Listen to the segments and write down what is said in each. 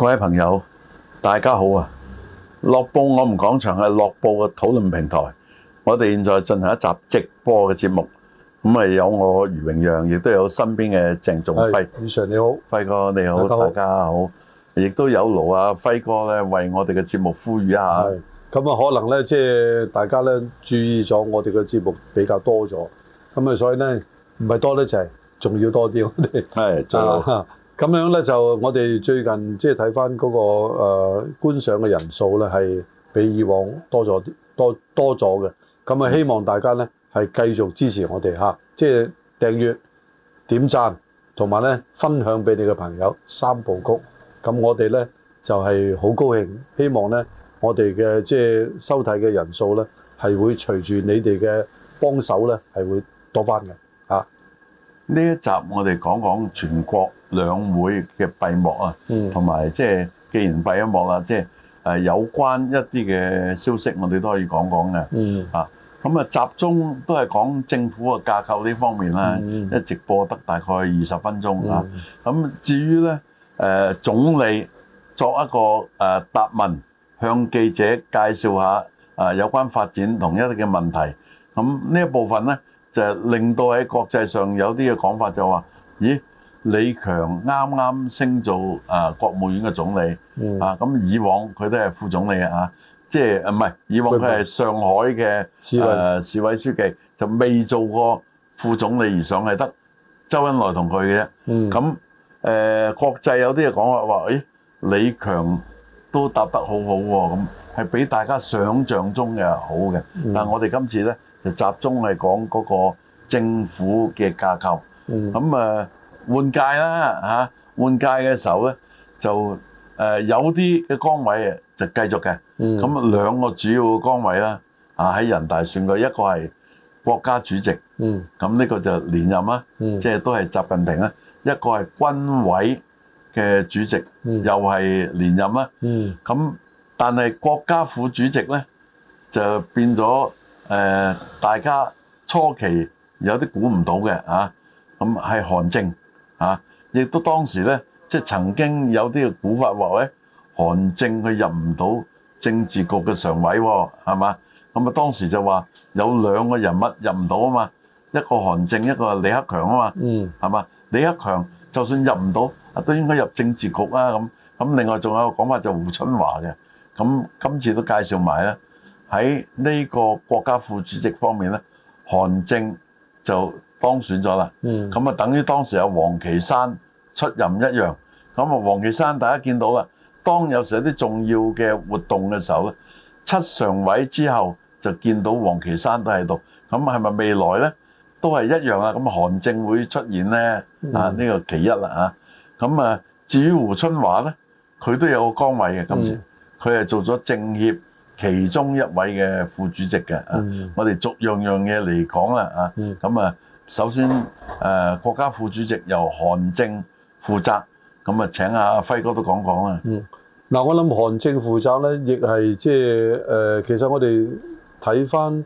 各位朋友，大家好啊！樂報我們講場係樂報嘅討論平台，我哋現在進行一集直播嘅節目。咁啊，有我余榮讓，亦都有身邊嘅鄭仲輝。余 Sir 你好，輝哥你好，大家好。亦都有勞啊輝哥咧，為我哋嘅節目呼籲一下。 咁啊，可能咧即係大家咧注意咗我哋嘅節目比較多咗，咁啊，所以咧唔係多咧就係仲要多啲。我哋係最好。 咁樣咧就我哋最近即係睇翻嗰個觀賞嘅人數咧係比以往多咗多咗嘅。咁啊，希望大家咧係繼續支持我哋嚇，即係訂閱、點讚同埋咧分享俾你嘅朋友三部曲。咁我哋咧就係好高興，希望咧我哋嘅即係收睇嘅人數咧係會隨住你哋嘅幫手咧係會多翻嘅嚇。 呢一集我哋講講全國兩會嘅閉幕啊，同埋即係既然閉咗幕啦，即係有關一啲嘅消息，我哋都可以講講嘅。咁啊，集中都係講政府嘅架構呢方面啦，一直播得大概20分鐘啊。咁至於咧，總理作一個答問，向記者介紹下有關發展同一啲嘅問題。咁呢一部分咧，就令到喺國際上有啲嘅講法就話，咦，李強啱啱升做國務院嘅總理，咁以往佢都係副總理啊，即係唔係以往佢係上海嘅市委書記，就未做過副總理而上係得周恩來同佢嘅啫。咁國際有啲嘅講法話，咦，李強都答得好好喎，咁係比大家想象中嘅好嘅。但係我哋今次咧就集中係講嗰個政府嘅架構。咁換屆啦換屆嘅時候咧就有啲嘅崗位就繼續嘅。咁兩個主要嘅崗位啦，喺人大選舉，一個係國家主席，咁呢個就連任啦，即係都係習近平啦。一個係軍委嘅主席，又係連任啦。咁但係國家副主席咧就變咗大家初期有啲估唔到嘅咁係韓正亦都當時咧即係曾經有啲嘅估法話咧，韓正佢入唔到政治局嘅常委喎，係嘛？咁啊當時就話有兩個人物入唔到啊嘛，一個韓正，一個李克強啊嘛，係嘛？李克強就算入唔到，都應該入政治局啊咁。咁另外仲有個講法就胡春華嘅，咁今次都介紹埋咧喺呢個國家副主席方面咧，韓正就當選咗啦。咁啊等於當時有王岐山出任一樣。咁啊王岐山大家見到啦，當有時有啲重要嘅活動嘅時候咧，7常委之後就見到王岐山都喺度。咁係咪未來咧都係一樣啊？咁韓正會出現咧呢個其一啦咁至於胡春華咧，佢都有個崗位嘅，今次佢係做咗政協其中一位嘅副主席嘅。我哋逐樣嘢嚟講啦咁首先國家副主席由韓正負責，咁請阿輝哥都講講啦。 嗱，我諗韓正負責咧，亦係即係其實我哋睇翻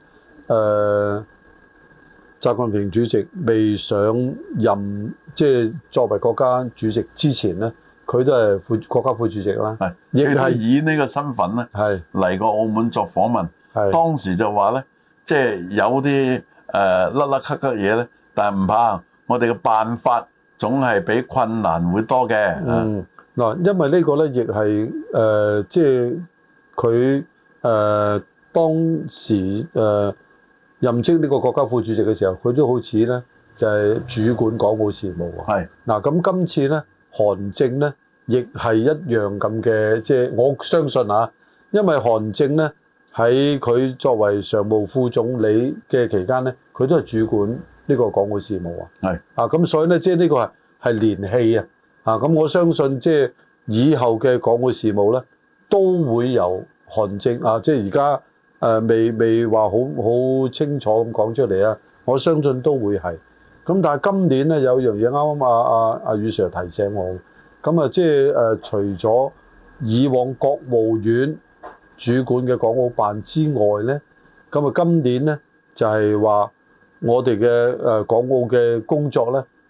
習近平主席未上任，即係作為國家主席之前咧，佢都係國家副主席啦。亦係以呢個身份咧嚟過澳門作訪問。當時就話咧，即係有啲甩甩咳咳嘢咧，但係唔怕，我哋嘅辦法總係比困難會多嘅。 嗱，因為呢個咧亦係即係佢當時任職呢個國家副主席嘅時候，佢都好似咧就係主管港澳事務喎。嗱，咁今次咧韓正咧亦係一樣咁嘅，即係我相信因為韓正咧喺佢作為常務副總理嘅期間咧，佢都係主管呢個港澳事務咁所以咧即係呢個係連戲咁我相信即係以後嘅港澳事務咧都會由韓正即係而家未話好清楚咁講出嚟我相信都會係。咁但係今年咧有樣嘢啱啱阿余 Sir 提醒我，咁即係除咗以往國務院主管嘅港澳辦之外咧，咁今年咧就係話我哋嘅港澳嘅工作咧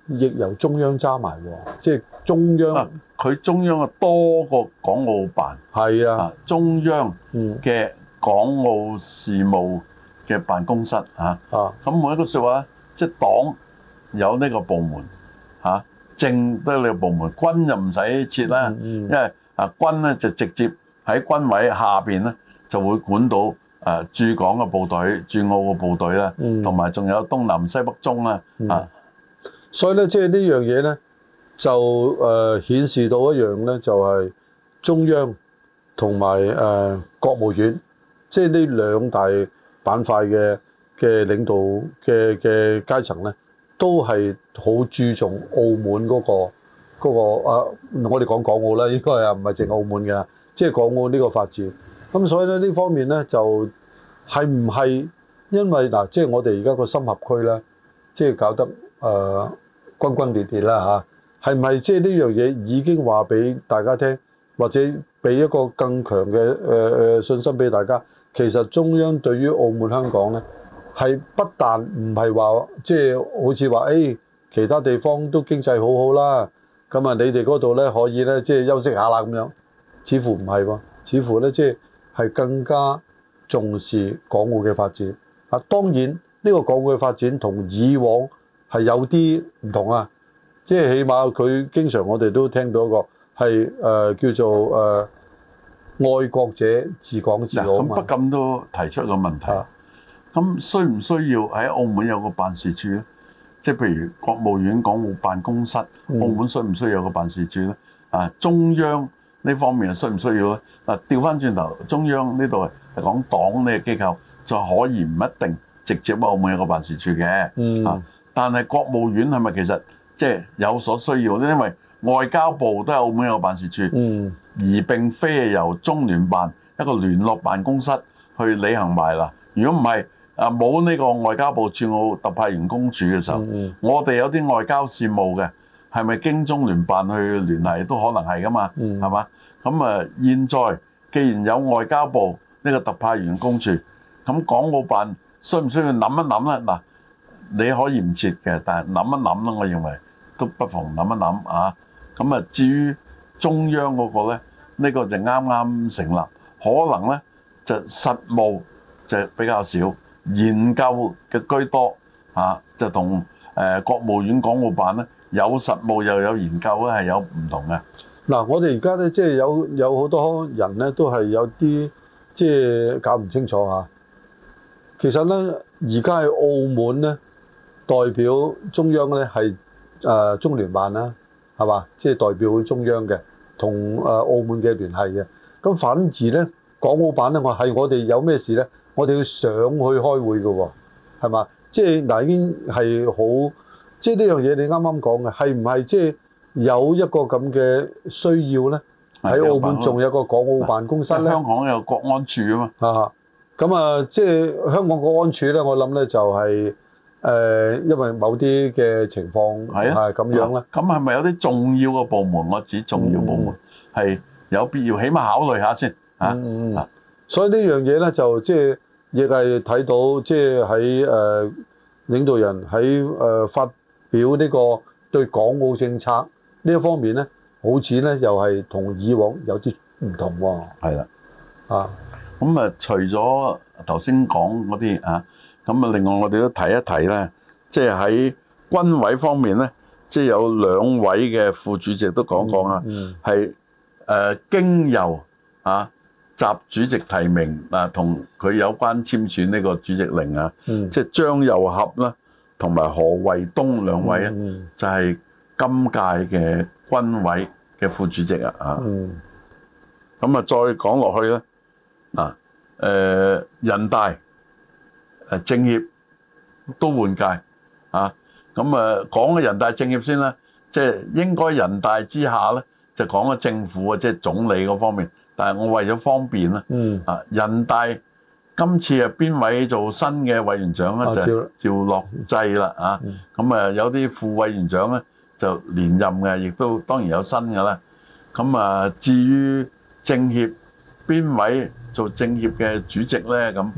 亦由中央揸埋喎，即係中央。 佢中央啊多個港澳辦。係啊，中央嘅港澳事務嘅辦公室嚇。咁每一個説話，即係黨有呢個部門嚇，政都有呢個部門，軍就唔使設啦，因為軍咧就直接喺軍委下邊咧就會管到駐港嘅部隊、駐澳嘅部隊啦，同埋仲有東南西北中啦所以咧，即係呢樣嘢咧，就顯示到一樣咧，就係中央同埋國務院，即係呢兩大板塊嘅領導嘅階層咧，都係好注重澳門嗰個我哋講港澳啦，應該係唔係淨澳門嘅，即係港澳呢個發展。咁所以咧呢方面咧就係唔係因為嗱，即係我哋而家個深合區咧，即係搞得轟轟烈烈啦嚇，係唔係即係呢樣嘢已經話俾大家聽，或者俾一個更強嘅信心俾大家？其實中央對於澳門香港咧，係不但唔係話即係好似話其他地方都經濟好好啦，咁啊你哋嗰度咧可以咧即係休息下啦咁樣，似乎唔係喎，似乎咧即係更加重視港澳嘅發展。當然呢個港澳嘅發展同以往係有啲唔同啊，即係起碼佢經常我哋都聽到一個係叫做愛國者治港治澳嘛。咁不禁都提出一個問題，咁需唔需要喺澳門有個辦事處咧？即係譬如國務院港澳辦公室，澳門需唔需要有個辦事處咧？中央呢方面需唔需要咧？調翻轉頭，中央呢度係講黨呢個機構，就可以唔一定直接喺澳門有個辦事處嘅。但係國務院係咪其實即係有所需要咧？因為外交部都係澳門有個辦事處，而並非係由中聯辦一個聯絡辦公室去履行埋啦。如果唔係冇呢個外交部駐澳特派員公署嘅時候，我哋有啲外交事務嘅係咪經中聯辦去聯繫都可能係噶嘛？係嘛？咁現在既然有外交部呢個特派員公署，咁港澳辦需唔需要諗一諗咧？嗱，你可以唔設嘅，但係諗一諗啦，我認為都不妨諗一諗啊。咁至於中央嗰個咧，呢個就啱啱成立，可能咧就實務就比較少，研究嘅居多就同國務院港澳辦咧有實務又有研究咧係有唔同嘅。嗱，我哋而家咧即係有好多人咧都係有啲即係搞唔清楚嚇。其實咧而家喺澳門咧代表中央咧係中聯辦啦，係嘛？即係代表中央嘅，同澳門嘅聯繫嘅。咁反而咧港澳辦咧，我哋有咩事咧？我哋要上去開會嘅喎，係嘛？即係嗱，已經係好，即係呢樣嘢你啱啱講嘅，係唔係即係有一個咁嘅需要咧？喺澳門仲有個港澳辦公室咧。香港有國安處啊嘛。咁即係香港國安處咧，我諗咧就係因為某啲嘅情況係咁樣啦。咁係咪有啲重要嘅部門？我指重要部門係有必要，起碼考慮下先所以呢樣嘢咧就即係亦係睇到，即係喺領導人喺發表呢個對港澳政策呢一方面咧，好似咧又係同以往有啲唔同喎。係啦，咁除咗頭先講嗰啲咁另外我哋都提一提咧，即係喺軍委方面咧，即係有兩位嘅副主席都講講啊，係經由習主席提名同佢有關簽署呢個主席令即係張又俠啦，同埋何衛東兩位就係今屆嘅軍委嘅副主席咁再講落去咧人大政協都換屆咁講嘅人大政協先啦，即係應該人大之下咧就講嘅政府即係總理嗰方面。但係我為咗方便啦，人大今次邊位做新嘅委員長咧？就趙樂際啦咁有啲副委員長咧就連任嘅，亦都當然有新嘅啦。咁至於政協邊位做政協嘅主席咧？咁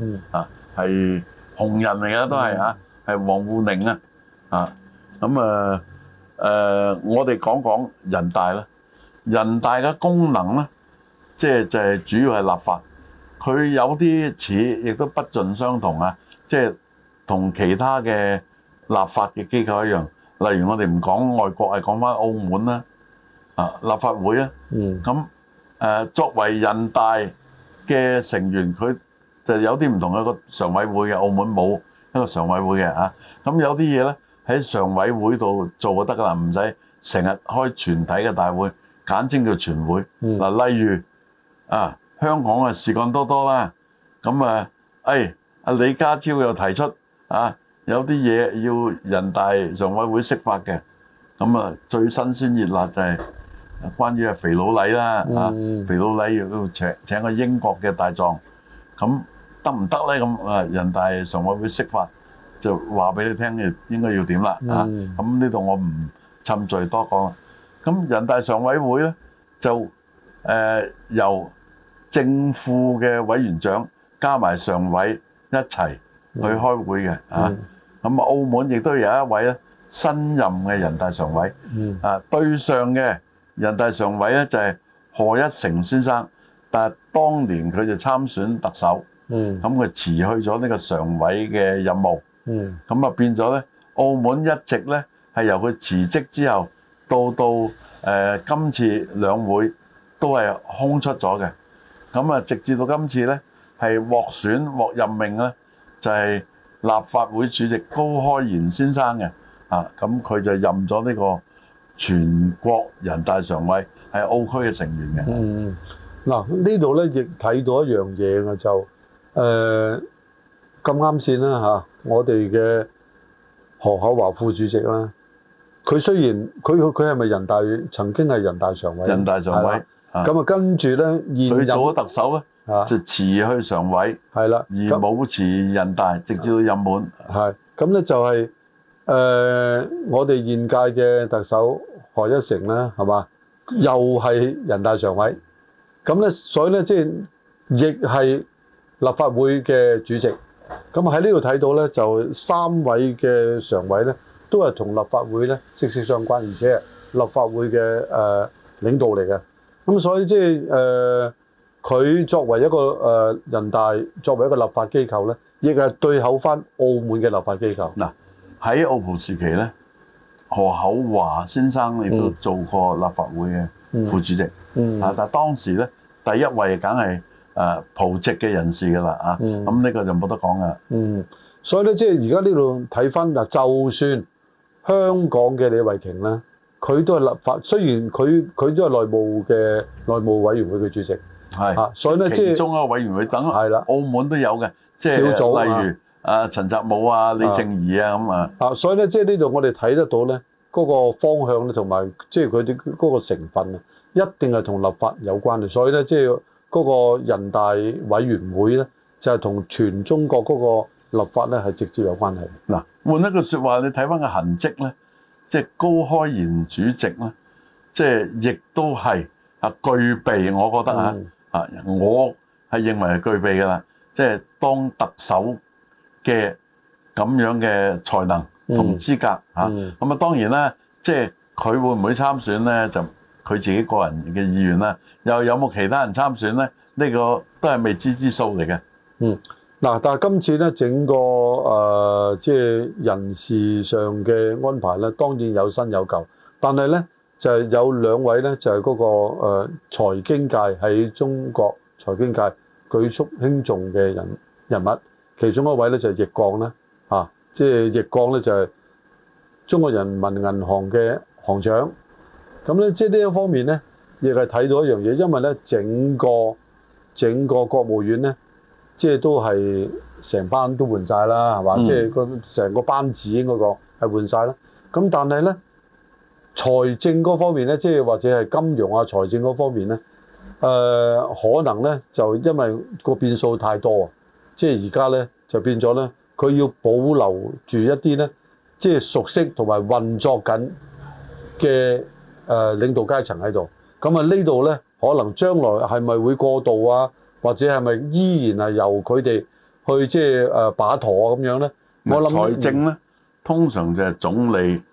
係紅人嚟嘅都係係王滬寧咁我哋講講人大啦。人大嘅功能咧，即係就係主要係立法。佢有啲似，亦都不盡相同啊！即係同其他嘅立法嘅機構一樣。例如我哋唔講外國，係講翻澳門啦，立法會啦。咁作為人大嘅成員，佢就有啲唔同嘅，一個常委會嘅，澳門冇一個常委會嘅啊。咁有啲嘢咧喺常委會度做就得噶啦，唔使成日開全體嘅大會，簡稱叫全會。嗱，例如香港啊事幹多多啦，咁阿李家超又提出有啲嘢要人大常委會釋法嘅，咁最新鮮熱辣就係關於肥佬黎啦，肥佬黎要請個英國嘅大狀，咁得唔得咧？咁人大常委會釋法就話俾你聽嘅應該要點啦，咁呢度我唔侵罪多講。咁人大常委會咧就由正副嘅委員長加埋常委一齊去開會嘅，咁澳門亦都有一位咧新任嘅人大常委，對上嘅人大常委咧就係賀一誠先生，但係當年佢就參選特首，咁佢辭去咗呢個常委嘅任務，咁變咗咧澳門一直咧係由佢辭職之後到今次兩會都係空出咗嘅，咁直至到今次咧係獲選獲任命咧就係立法會主席高開賢先生嘅，咁佢就任咗呢個全國人大常委，係澳區嘅成員嘅。 嗱呢度咧亦睇到一樣嘢嘅就咁啱先啦我哋嘅何厚鏵副主席啦，佢雖然佢係咪人大曾經係人大常委？人大常委。咁跟住咧現任佢做咗特首咧。就辭去常委，係啦，而冇辭人大，直至到任滿。係咁咧，就係我哋現屆嘅特首賀一誠啦，係嘛？又係人大常委。咁咧，所以咧，即係亦係立法會嘅主席。咁喺呢度睇到咧，就三位嘅常委咧，都係同立法會咧息息相關，而且係立法會嘅領導嚟嘅。咁所以即係佢作為一個人大，作為一個立法機構咧，亦係對口翻澳門嘅立法機構。嗱喺澳葡時期咧，何厚鏵先生亦都做過立法會嘅副主席。但係當時咧第一位梗係葡籍嘅人士㗎啦咁呢個就冇得講㗎。所以咧，即係而家呢度睇翻嗱，就算香港嘅李慧瓊咧，佢都係立法，雖然佢都係內務委員會嘅主席。係，所以咧即係其中一個委員會等係啦，澳門都有嘅，即係小組，例如陳澤武啊、李靜儀啊咁啊。所以咧即係呢度我哋睇得到咧嗰個方向咧，同埋即係佢哋嗰個成分啊，一定係同立法有關嘅。所以咧即係嗰個人大委員會咧，就係同全中國嗰個立法咧係直接有關係。嗱，換一句説話，你睇翻個痕跡咧，即係高開賢主席咧，即係亦都係具備，我覺得我係認為係具備㗎啦，即係當特首嘅咁樣嘅才能同資格咁當然啦，即係佢會唔會參選咧？就佢自己個人嘅意願啦。又有冇其他人參選咧？呢個都係未知之數嚟嘅。嗱，但係今次咧整個即係人事上嘅安排咧，當然有新有舊，但係咧。就係有兩位咧，就係嗰個財經界喺中國財經界舉足輕重嘅人物，其中一位咧就係易綱啦，即係易綱咧就係中國人民銀行嘅行長。咁咧即係呢一方面咧，亦係睇到一樣嘢，因為咧整個國務院咧，即係都係成班都換晒啦，係嘛？即係成個班子應該講係換晒啦。咁但係咧。財政嗰方面咧，即係或者係金融啊、財政嗰方面咧，可能咧就因為個變數太多啊，即係而家咧就變咗咧，佢要保留住一啲咧，即係熟悉同埋運作緊嘅領導階層喺度。咁呢度咧，可能將來係咪會過渡啊，或者係咪依然係由佢哋去即係把舵咁樣咧？我諗財政咧，通常就係總理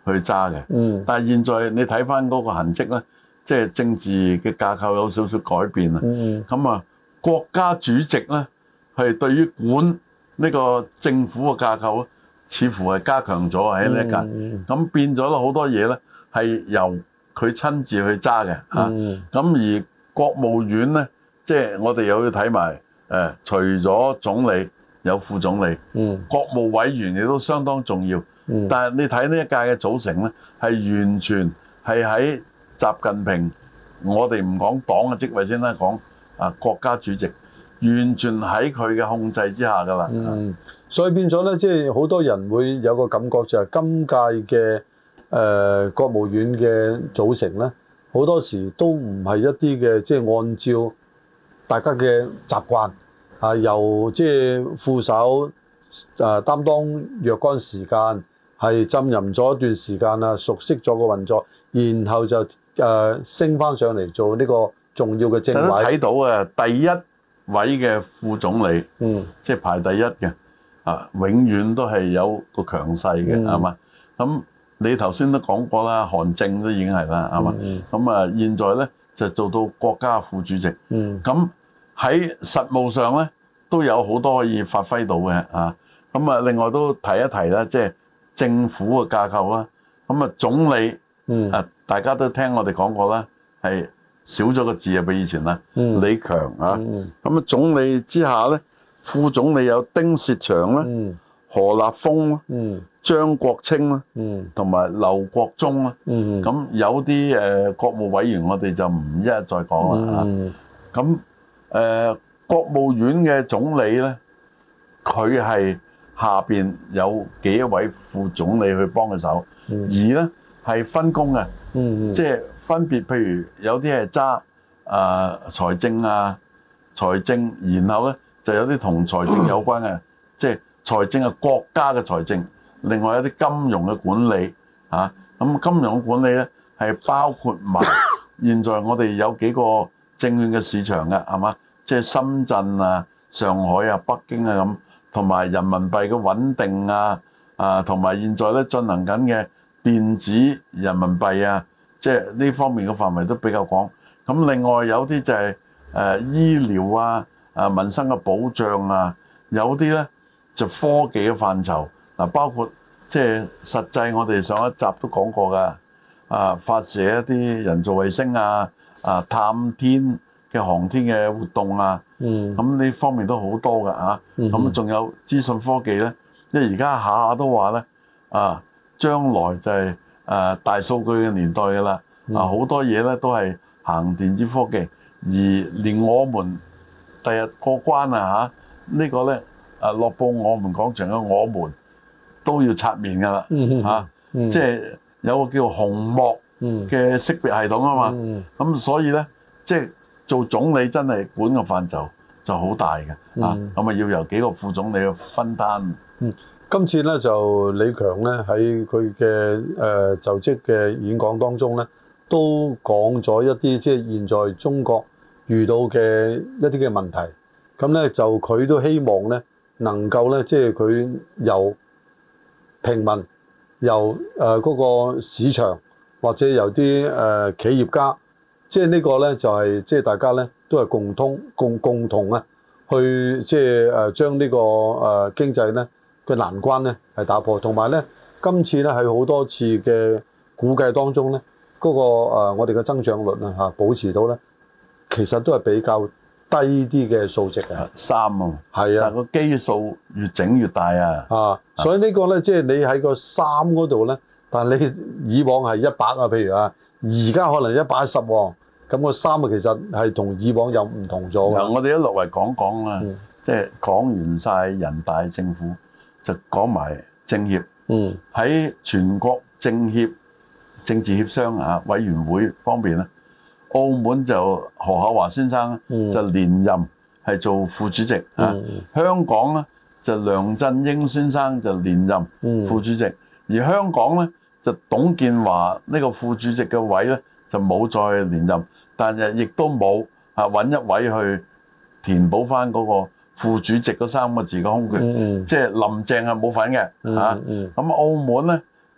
去揸嘅。但係現在你睇翻嗰個痕跡咧，即係政治嘅架構有少少改變啊。咁啊，國家主席咧係對於管呢個政府嘅架構，似乎係加強咗喺呢一屆。咁變咗好多嘢咧係由佢親自去揸嘅嚇。咁而國務院咧，即係我哋又要睇埋除咗總理有副總理，國務委員亦都相當重要。但係你睇呢一屆嘅組成咧，係完全係喺習近平，我哋唔講黨嘅職位先啦，講國家主席，完全喺佢嘅控制之下㗎啦。 所以變咗咧，即係好多人會有個感覺就係今屆嘅國務院嘅組成咧，好多時都唔係一啲嘅即係按照大家嘅習慣由即係副手擔當若干時間，係浸淫咗一段時間啦，熟悉咗個運作，然後就升翻上嚟做呢個重要嘅政委。 睇到第一位嘅副總理，即係排第一嘅永遠都係有個強勢嘅，係嘛？咁你頭先都講過啦，韓正都已經係啦，係嘛？咁現在咧就做到國家副主席。咁喺實務上咧都有好多可以發揮到嘅咁另外都提一提啦，即係政府嘅架構啦。咁總理大家都聽我哋講過啦，係少咗個字比以前啦。李強咁總理之下咧，副總理有丁薛祥啦、何立峰啦、張國清啦，同埋劉國中啦。咁有啲國務委員我哋就唔一一再講啦。咁國務院嘅總理咧，佢係下邊有幾位副總理去幫佢手，而咧係分工嘅，即係分別譬如有啲係揸財政財政，然後咧就有啲同財政有關嘅，即係財政係國家嘅財政，另外有啲金融嘅管理咁金融嘅管理咧係包括埋現在我哋有幾個證券嘅市場嘅，係嘛？即係深圳上海北京咁，同埋人民幣嘅穩定同埋現在咧進行緊嘅電子人民幣即係呢方面嘅範圍都比較廣。咁另外有啲就係醫療民生嘅保障有啲咧就科技嘅範疇包括即係實際我哋上一集都講過㗎發射一啲人造衛星探天嘅航天嘅活動咁呢方面都好多㗎咁仲有資訊科技咧，因為而家下下都話咧將來就係大數據嘅年代㗎啦，好多嘢咧都係行電子科技，而連我們第日過關呢個咧樂報我們講場嘅我們都要刷面㗎啦即係有個叫紅幕嘅識別系統嘛，咁所以咧即係做總理真係管個範疇就好大嘅咁要由幾個副總理去分擔。 今次咧就李強咧喺佢嘅就職嘅演講當中咧，都講咗一啲即係現在中國遇到嘅一啲嘅問題。咁咧就佢都希望咧能夠咧即係佢由平民、由嗰個市場或者由啲企業家，即係呢個咧就係即係大家咧都係共同去即係將呢個經濟咧嘅難關咧係打破，同埋咧今次咧係好多次嘅估計當中咧嗰個我哋嘅增長率保持到咧，其實都係比較低啲嘅數值嘅 3係個基數越整越大所以呢個咧即係你喺個3嗰度咧，但係你以往係100譬如而家可能110喎，咁個3其實係同以往又唔同咗。 我哋一落嚟講啦，即係講完晒人大政府，就講埋政協。喺全國政協政治協商委員會方面咧，澳門就何厚鏵先生就連任係做副主席香港咧就梁振英先生就連任副主席，而香港咧就董建華呢個副主席嘅位咧就冇再連任，但係亦都冇揾一位去填補翻嗰個副主席嗰3個字嘅空缺，即係林鄭係冇份嘅咁澳門咧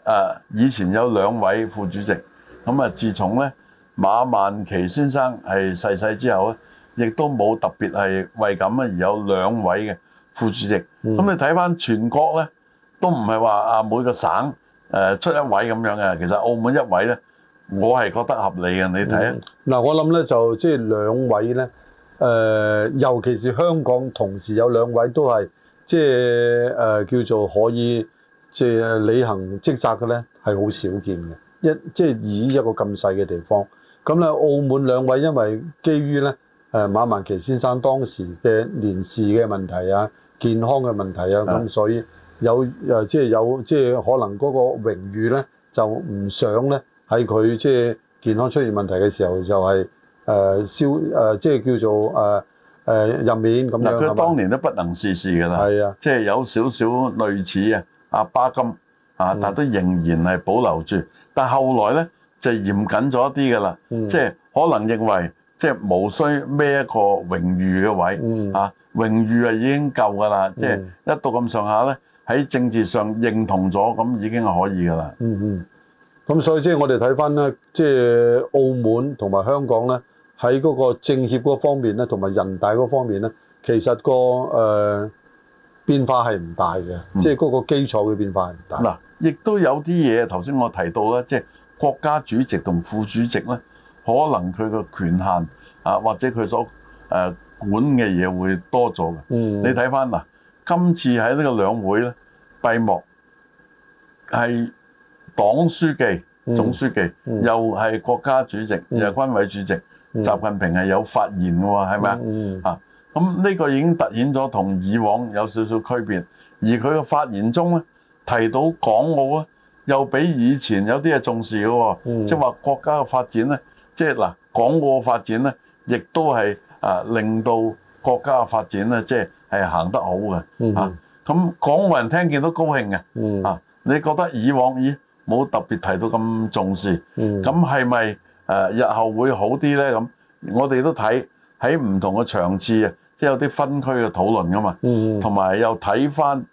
以前有2位副主席，咁自從咧馬萬祺先生係逝世之後咧，亦都冇特別係為咁而有2位嘅副主席。咁你睇翻全國咧，都唔係話每個省出1位咁樣嘅。其實澳門1位咧，我係覺得合理嘅。你睇啊， 嗱，我諗咧就即係2位咧，尤其是香港同時有2位都係即係叫做可以即係履行職責嘅咧，係好少見嘅。即係以一個咁細嘅地方，咁咧澳門2位因為基於咧馬萬祺先生當時嘅年事嘅問題啊、健康嘅問題啊，咁所以即係可能嗰個榮譽咧就唔想咧喺佢即係健康出現問題嘅時候就係即係叫做入面咁樣。 佢當年都不能事事㗎啦， 係啊， 即係有少少類似阿巴金但都仍然係保留住。但後來咧就嚴謹咗一啲㗎啦，即係可能認為即係無需孭一個榮譽嘅位，榮譽已經夠㗎啦，即係一到咁上下咧喺政治上認同咗，咁已經係可以㗎啦。 咁所以即係我哋睇翻咧，即係澳門同埋香港咧喺嗰個政協嗰方面咧，同埋人大嗰方面咧，其實個變化係唔大嘅，即係嗰個基礎嘅變化係唔大。 嗱，亦都有啲嘢頭先我提到咧，即係國家主席同副主席咧，可能佢個權限或者佢所管嘅嘢會多咗嘅。你睇翻嗱，今次喺呢個兩會咧閉幕係黨書記、總書記，又係國家主席，又係軍委主席，習近平係有發言嘅喎，係咪啊？咁呢個已經凸顯咗同以往有少少區別，而佢嘅發言中咧提到港澳咧，又比以前有啲係重視嘅喎，即係話國家嘅發展咧，即係嗱港澳嘅發展咧，亦都係令到國家嘅發展咧，即係行得好嘅咁港澳人聽見都高興嘅你覺得以往冇特別提到咁重視，咁係咪日後會好啲咧？咁我哋都睇喺唔同嘅場次即係有啲分區嘅討論噶嘛，同埋又睇翻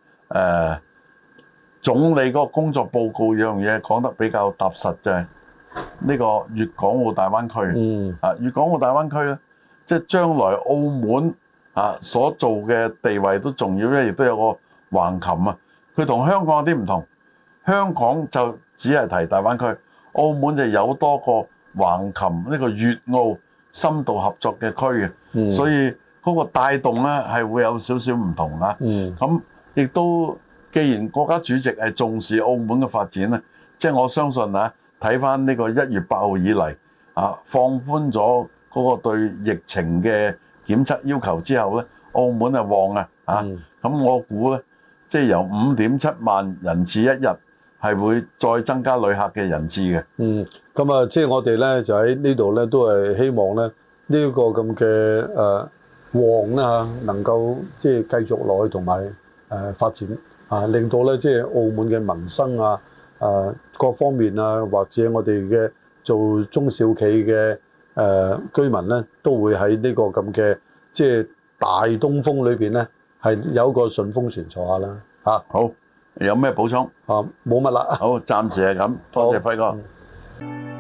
總理嗰個工作報告樣嘢講得比較踏實，就係呢個粵港澳大灣區。粵港澳大灣區咧，即係將來澳門所做嘅地位都重要咧，亦都有個橫琴佢同香港有啲唔同。香港就只係提大灣區，澳門就有多個橫琴呢個粵澳深度合作嘅區嘅，所以嗰個帶動咧係會有少少唔同咁亦都既然國家主席係重視澳門嘅發展咧，即係我相信睇翻呢個1月8號以嚟放寬咗嗰個對疫情嘅檢測要求之後咧，澳門係旺咁我估咧，即係由5.7萬人次一日係會再增加旅客嘅人次嘅。 咁即係我哋咧就喺呢度咧都係希望咧呢個咁嘅旺啦能夠即係繼續落去同埋發展令到咧即係澳門嘅民生各方面或者我哋嘅做中小企嘅居民咧都會喺呢個咁嘅即係大東風裏邊咧係有一個順風船坐下啦好。有咩補充？ 冇乜啦。 好，暫時係咁。多謝輝哥。